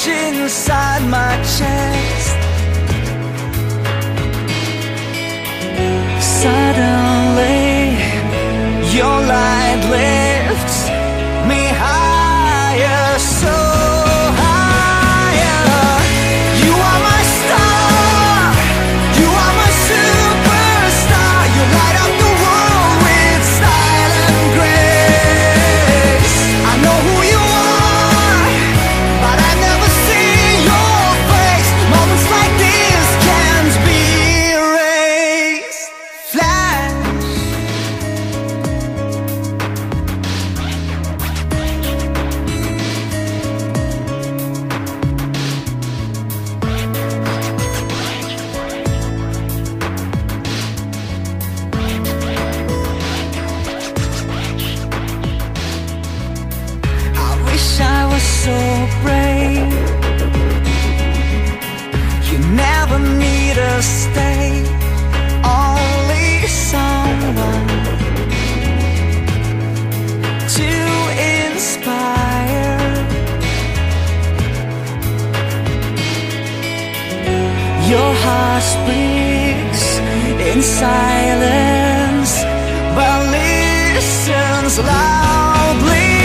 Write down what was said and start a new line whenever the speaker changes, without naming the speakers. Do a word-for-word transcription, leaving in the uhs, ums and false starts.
flash inside my chest. Suddenly, your light lifts me higher, so higher. You are my star, you are my superstar. You light up the world with style and grace. I know who you are, but I've never seen your face. Moments like this can't be erased. Flash, I wish I was so brave. You never need to stay, only someone to inspire. Your heart speaks in silence, but listens loudly.